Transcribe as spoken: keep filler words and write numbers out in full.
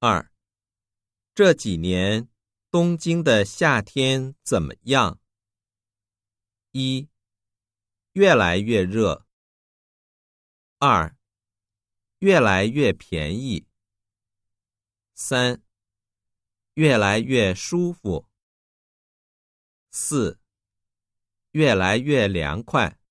二，这几年东京的夏天怎么样？一，越来越热。二，越来越便宜。三，越来越舒服。四，越来越凉快。